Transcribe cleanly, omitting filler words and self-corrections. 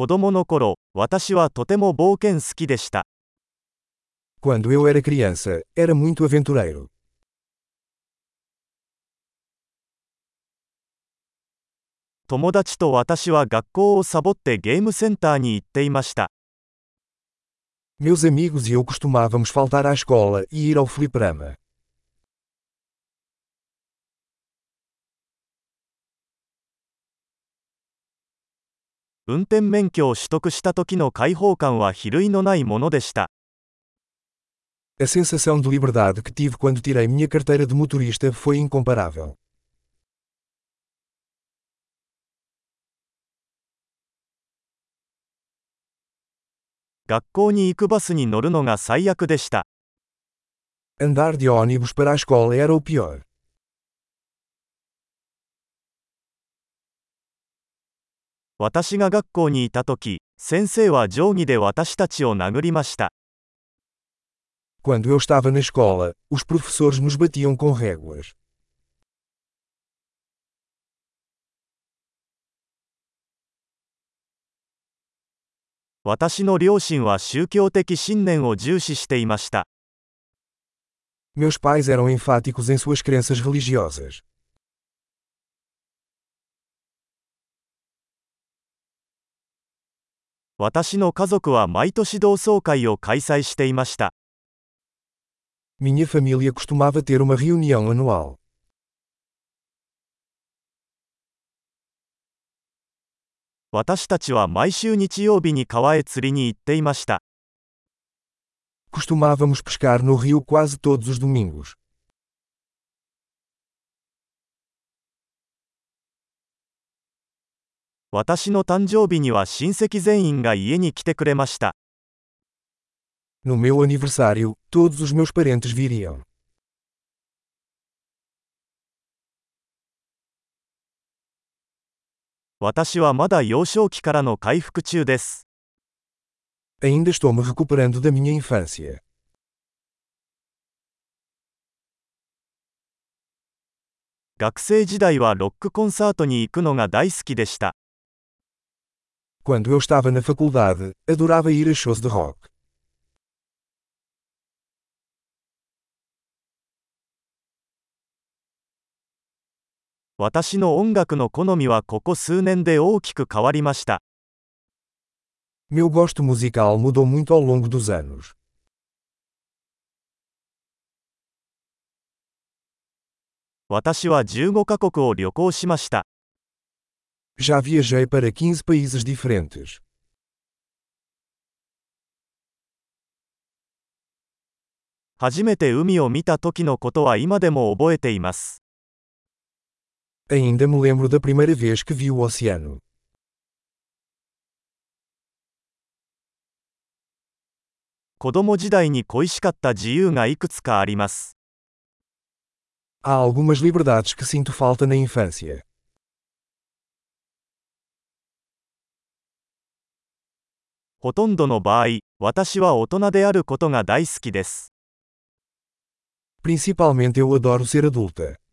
子供の頃、私はとても冒険好きでした。 Quando eu era criança, era muito aventureiro. 友達と私は学校をサボってゲームセンターに行っていました。 Meus amigos e eu costumávamos faltar à escola e ir ao fliperama. 運転免許を取得した時の解放感は比類のないものでした。 A sensação de liberdade que tive quando tirei minha carteira de motorista foi incomparável. 学校に行くバスに乗るのが最悪でした。 Andar de ônibus para a escola era o pior. 私が学校にいた時、先生は定規で私たちを殴りました。 Quando eu estava na escola, os professores nos batiam com réguas. 私の両親は宗教的信念を重視していました。 Meus pais eram enfáticos em suas crenças religiosas. 私の家族は毎年同窓会を開催していました。 Minha família costumava ter uma reunião anual. 私たちは毎週日曜日に川へ釣りに行っていました。 Costumávamos pescar no rio quase todos os domingos. 私の誕生日には親戚全員が家に来てくれました。 No meu aniversário, todos os meus parentes viriam. 私はまだ幼少期からの回復中です。 Ainda estou me recuperando da minha infância. 学生時代はロックコンサートに行くのが大好きでした。 Quando eu estava na faculdade, adorava ir a shows de rock. 私の音楽の好みはここ数年で大きく変わりました。 Meu gosto musical mudou muito ao longo dos anos. 私は15カ国を旅行しました。 Já viajei para 15 países diferentes. 初めて海を見た時のことは今でも覚えています。 Ainda me lembro da primeira vez que vi o oceano. 子供時代に恋しかった自由がいくつかあります。 Há algumas liberdades que sinto falta na infância. ほとんどの場合、私は大人であることが大好きです。 Principalmente eu adoro ser adulta.